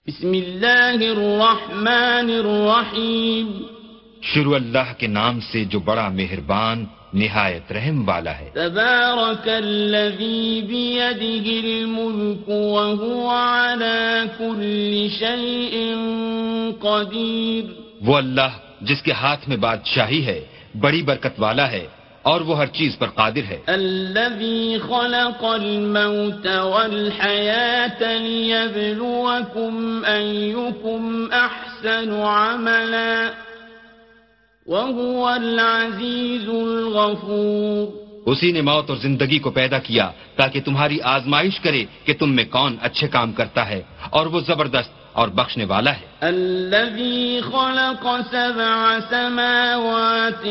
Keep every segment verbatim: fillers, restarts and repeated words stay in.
بسم اللہ الرحمن الرحیم. شروع اللہ کے نام سے جو بڑا مہربان نہایت رحم والا ہے. تبارک الذی بیدہ الملک وہو علی کل شیء قدیر. وہ اللہ جس کے ہاتھ میں بادشاہی ہے بڑی برکت والا ہے اور وہ ہر چیز پر قادر ہے. الذی خلق الموت والحیاة لیبلوکم ایکم احسن عملا وهو العزیز الغفور. اسی نے موت اور زندگی کو پیدا کیا تاکہ تمہاری آزمائش کرے کہ تم میں کون اچھے کام کرتا ہے اور وہ زبردست اور بخشنے والا ہے. الذي خلق سبع سماوات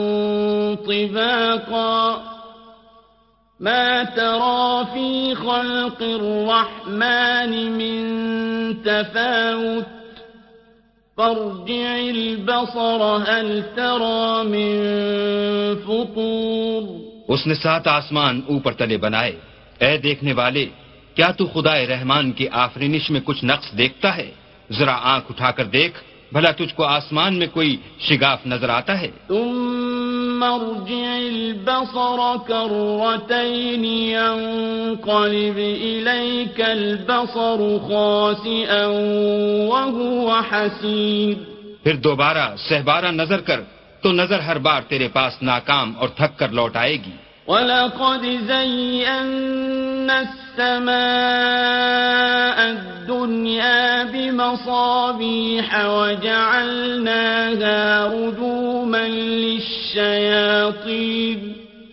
طباقا ما ترى في خلق الرحمن من تفاوت فارجع البصر هل ترى من فطور. اس نے سات آسمان اوپر تلے بنائے. اے دیکھنے والے، کیا تو خدائے رحمان کی آفرینش میں کچھ نقص دیکھتا ہے؟ ذرا آنکھ اٹھا کر دیکھ، بھلا تجھ کو آسمان میں کوئی شگاف نظر آتا ہے؟ ثم ارجع البصر كرتين ينقلب إليك البصر خاسئا وهو حسير. پھر دوبارہ سہبارہ نظر کر تو نظر ہر بار تیرے پاس ناکام اور تھک کر لوٹ آئے گی. وَلَقَدْ زَيَّنَّا السَّمَاءَ الدُّنْيَا بِمَصَابِيحَ وَجَعَلْنَاهَا رُجُومًا لِلشَّيَاطِينِ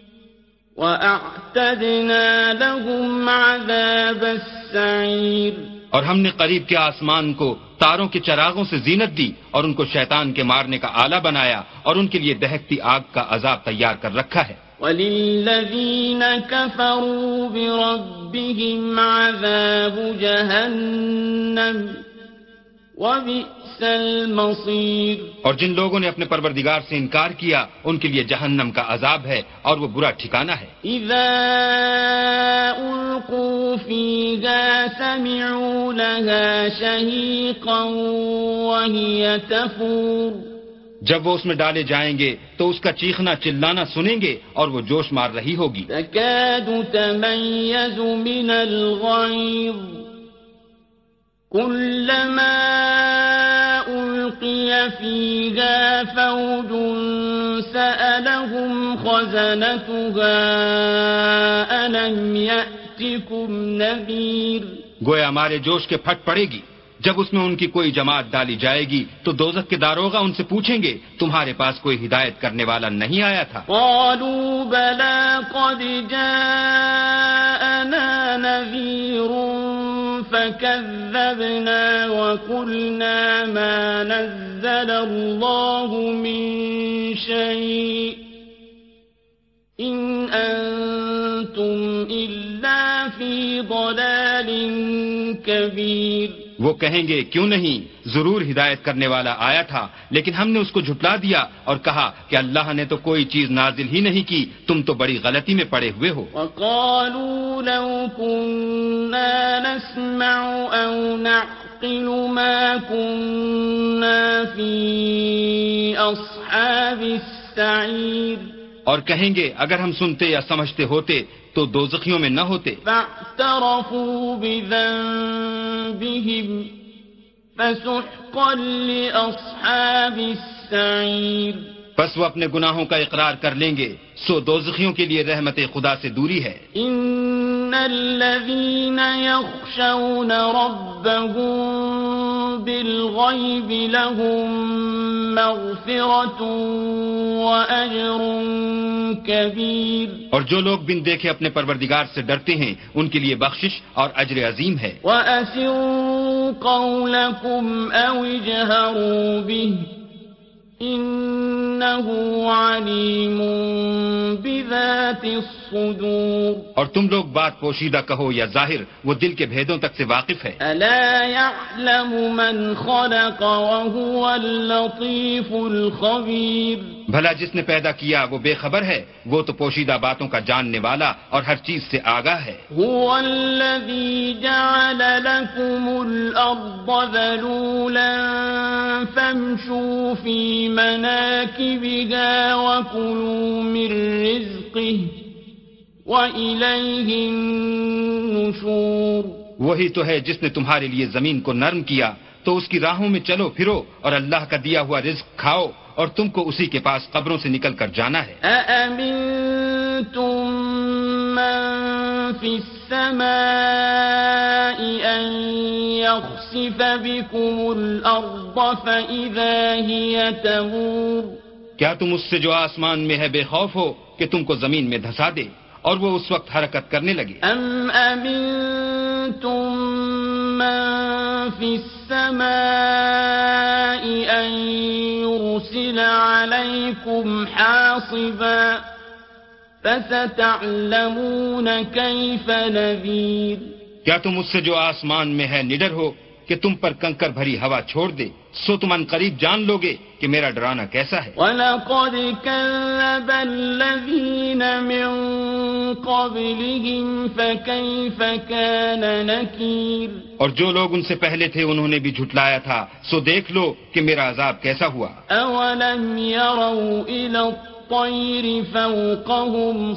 وَأَعْتَدْنَا لَهُمْ عَذَابَ السَّعِيرِ. اور ہم نے قریب کے آسمان کو تاروں کے چراغوں سے زینت دی اور ان کو شیطان کے مارنے کا آلہ بنایا اور ان کے لیے دہکتی آگ کا عذاب تیار کر رکھا ہے. وَلِلَّذِينَ كَفَرُوا بِرَبِّهِمْ عَذَابُ جَهَنَّمَ وَبِئْسَ الْمَصِيرُ. اور جن لوگوں نے اپنے پروردگار سے انکار کیا ان کے لیے جہنم کا عذاب ہے اور وہ برا ٹھکانہ ہے. إِذَا أُلْقُوا فِيهَا سَمِعُوا لَهَا شَهِيقًا وَهِيَ تَفُورُ. جب وہ اس میں ڈالے جائیں گے تو اس کا چیخنا چلانا سنیں گے اور وہ جوش مار رہی ہوگی. تَكَادُ تَمَيَّزُ مِنَ الْغَيْظِ كُلَّمَا أُلْقِيَ فِيهَا فَوْجٌ سَأَلَهُمْ خَزَنَتُهَا أَلَمْ يَأْتِكُمْ نَذِيرٌ. گویا ہمارے جوش کے پھٹ پڑے گی. جب اس میں ان کی کوئی جماعت ڈالی جائے گی تو دوزخ کے داروغہ ان سے پوچھیں گے تمہارے پاس کوئی ہدایت کرنے والا نہیں آیا تھا؟ قالوا بلى قد جاءنا نذير فكذبنا وقلنا ما نزل الله من شيء إن أنتم إلا في ضلال كبير. وہ کہیں گے کیوں نہیں، ضرور ہدایت کرنے والا آیا تھا لیکن ہم نے اس کو جھٹلا دیا اور کہا کہ اللہ نے تو کوئی چیز نازل ہی نہیں کی، تم تو بڑی غلطی میں پڑے ہوئے ہو. وقالوا لو كنا نسمع أو نعقل ما كنا في أصحاب السعير. اور کہیں گے اگر ہم سنتے یا سمجھتے ہوتے تو دوزخیوں میں نہ ہوتے. فاعترفوا بذنبهم فسحقا لأصحاب السعير. پس وہ اپنے گناہوں کا اقرار کر لیں گے، سو دوزخیوں کے لیے رحمت خدا سے دوری ہے. ان الذين يخشون ربهم بالغيب لهم مغفرة وأجر كبير. اور جو لوگ بن دیکھے اپنے پروردگار سے ڈرتے ہیں ان کے لیے بخشش اور اجر عظیم ہے. وَأَسِرُّوا قَوْلَكُمْ أَوْ اجْهَرُوا بِهِ إِنَّهُ عَلِيمٌ بِذَاتِ الصُّدُورِ. الصدور اور تم لوگ بات پوشیدہ کہو یا ظاہر، وہ دل کے بھیدوں تک سے واقف ہے۔ ألا يعلم من خلق وهو اللطيف الخبير بھلا جس نے پیدا کیا وہ بے خبر ہے، وہ تو پوشیدہ باتوں کا جاننے والا اور ہر چیز سے آگاہ ہے۔ هو الذي جعل لكم الأرض ذلولا فامشوا في مناكبها وكلوا من رزقه وإليه النشور وہی تو ہے جس نے تمہارے لیے زمین کو نرم کیا، تو اس کی راہوں میں چلو پھرو اور اللہ کا دیا ہوا رزق کھاؤ، اور تم کو اسی کے پاس قبروں سے نکل کر جانا ہے۔ أأمنتم من في السماء أن يخسف بكم الأرض فإذا هي تمور کیا تم اس سے جو آسمان میں ہے بے خوف ہو کہ تم کو زمین میں دھسا دے اور وہ اس وقت حرکت کرنے لگے؟ أم أمنتم من في السماء أن يرسل عليكم حاصبا فستعلمون كيف نذير کیا تم اس سے جو آسمان میں ہے نڈر ہو کہ تم پر کنکر بھری ہوا چھوڑ دے، سو تم ان قریب جان لو گے کہ میرا ڈرانا کیسا ہے۔ وَلَقَدْ كَذَّبَ الَّذِينَ مِن قَبْلِهِمْ فَكَيْفَ كَانَ نَكِيرِ اور جو لوگ ان سے پہلے تھے انہوں نے بھی جھٹلایا تھا، سو دیکھ لو کہ میرا عذاب کیسا ہوا۔ أَوَلَمْ يَرَوْا إِلَى الطَّيْرِ فَوْقَهُمْ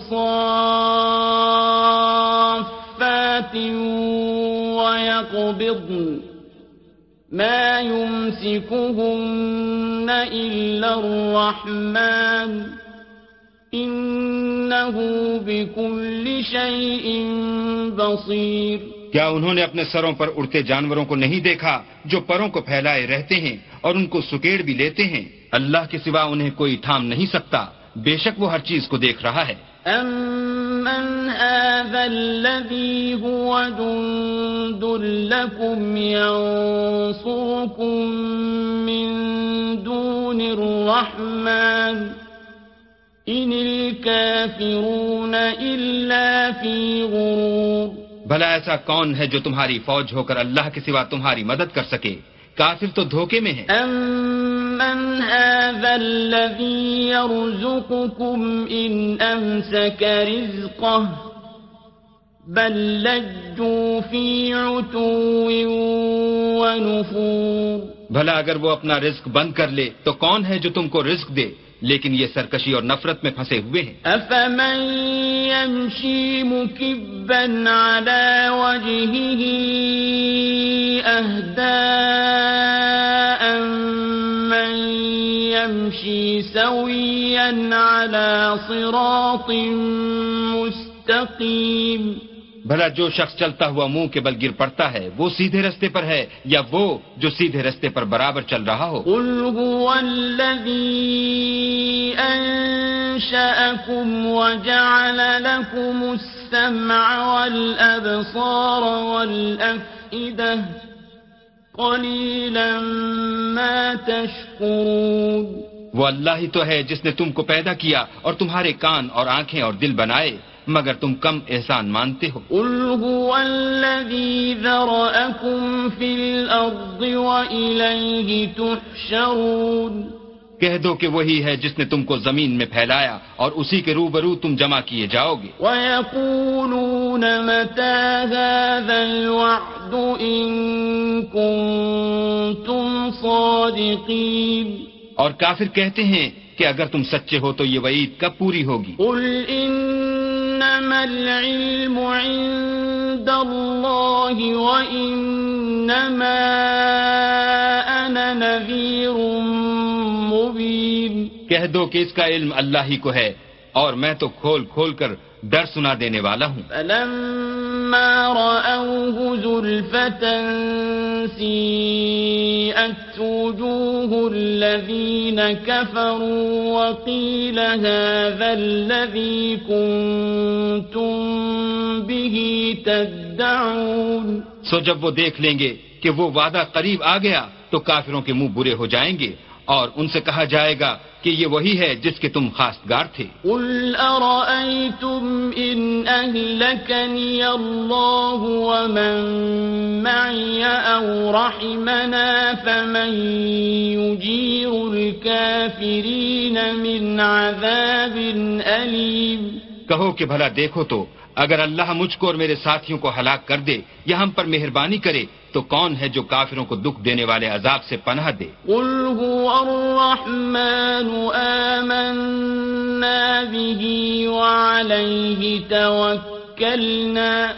صَافَّاتٍ وَيَقْبِضْنَ ما يمسكهن إلا الرحمن إنه بكل شيء بصير کیا انہوں نے اپنے سروں پر اڑتے جانوروں کو نہیں دیکھا جو پروں کو پھیلائے رہتے ہیں اور ان کو سکیڑ بھی لیتے ہیں؟ اللہ کے سوا انہیں کوئی تھام نہیں سکتا، بے شک وہ ہر چیز کو دیکھ رہا ہے۔ أَمَّنْ هَذَا الَّذِي هُوَ جُندٌ لَكُمْ يَنصُرُكُم مِّن دُونِ الرَّحْمَٰنِ إِنِ الْكَافِرُونَ إِلَّا فِي غُرُورٍ بھلا ایسا کون ہے جو تمہاری فوج ہو کر اللہ کے سوا تمہاری مدد کر سکے؟ کافر تو دھوکے میں ہیں۔ أَمَّنْ هَذَا الَّذِي يَرْزُقُكُمْ إِنْ أَمْسَكَ رِزْقَهُ بَل لَّجُّوا فِي عُتُوٍّ وَنُفُورٍ بھلا اگر وہ اپنا رزق بند کر لے تو کون ہے جو تم کو رزق دے؟ لیکن یہ سرکشی اور نفرت میں پھنسے ہوئے ہیں۔ أَفَمَن يَمْشِي مُكِبًّا عَلَى وَجْهِهِ أَهْدَىٰ أَمَّن يَمْشِي سَوِيًّا عَلَى صِرَاطٍ مُّسْتَقِيمٍ بھلا جو شخص چلتا ہوا منہ کے بل گر پڑتا ہے وہ سیدھے رستے پر ہے یا وہ جو سیدھے رستے پر برابر چل رہا ہو؟ قُلْ هُوَ الَّذِي أَنشَأَكُمْ وَجَعَلَ لَكُمُ السَّمْعَ وَالْأَبْصَارَ وَالْأَفْئِدَةَ قَلِيلًا مَا تَشْكُرُونَ وہ اللہ ہی تو ہے جس نے تم کو پیدا کیا اور تمہارے کان اور آنکھیں اور دل بنائے، مگر تم کم احسان مانتے ہو۔ قُلْ هُوَ الَّذِي ذَرَأَكُمْ فِي الْأَرْضِ وَإِلَيْهِ تُحْشَرُونَ کہہ دو کہ وہی ہے جس نے تم کو زمین میں پھیلایا اور اسی کے روبرو تم جمع کیے جاؤ گے۔ وَيَقُولُونَ مَتَىٰ هَٰذَا الْوَعْدُ إِن كُنتُمْ صَادِقِينَ اور کافر کہتے ہیں کہ اگر تم سچے ہو تو یہ وعید کب پوری ہوگی؟ قُلْ إِنَّمَا الْعِلْمُ عِندَ اللَّهِ وَإِنَّمَا أَنَا نَذِيرٌ مُّبِينٌ کہہ دو کہ اس کا علم اللہ ہی کو ہے اور میں تو کھول کھول کر ڈر سنا دینے والا ہوں۔ فَلَمَّا رَأَوْهُ زُلْفَةً سِيئَتْ وُجُوهُ الَّذِينَ كَفَرُوا وَقِيلَ هَٰذَا الَّذِي كُنتُم بِهِ تَدَّعُونَ سو جب وہ دیکھ لیں گے کہ وہ وعدہ قریب آ گیا تو کافروں کے منہ برے ہو جائیں گے اور ان سے کہا جائے گا کہ یہ وہی ہے جس کے تم خواستگار تھے. قل أرأيتم إن أهلكني الله ومن معي أو رحمنا فمن يجير الكافرين من عذاب أليم. کہو کہ بھلا دیکھو تو اگر اللہ مجھ کو اور میرے ساتھیوں کو ہلاک کر دے یا ہم پر مہربانی کرے تو کون ہے جو کافروں کو دکھ دینے والے عذاب سے پناہ دے. قل هو الرحمن آمنا به وعليه توكلنا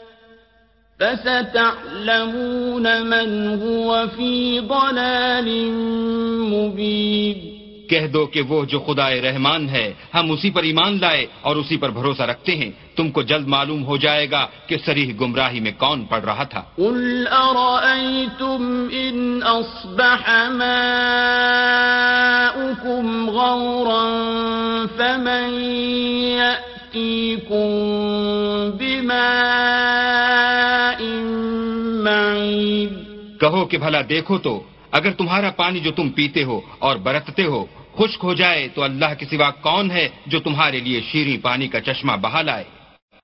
فستعلمون من هو في ضلال مبين. کہہ دو کہ وہ جو خدائے رحمان ہے ہم اسی پر ایمان لائے اور اسی پر بھروسہ رکھتے ہیں، تم کو جلد معلوم ہو جائے گا کہ صریح گمراہی میں کون پڑ رہا تھا. قل أرأيتم إن أصبح ماؤكم غورا فمن يأتيكم بماء معين. کہو کہ بھلا دیکھو تو اگر تمہارا پانی جو تم پیتے ہو اور برتتے ہو خشک ہو جائے تو اللہ کے سوا کون ہے جو تمہارے لیے شیریں پانی کا چشمہ بہا لائے.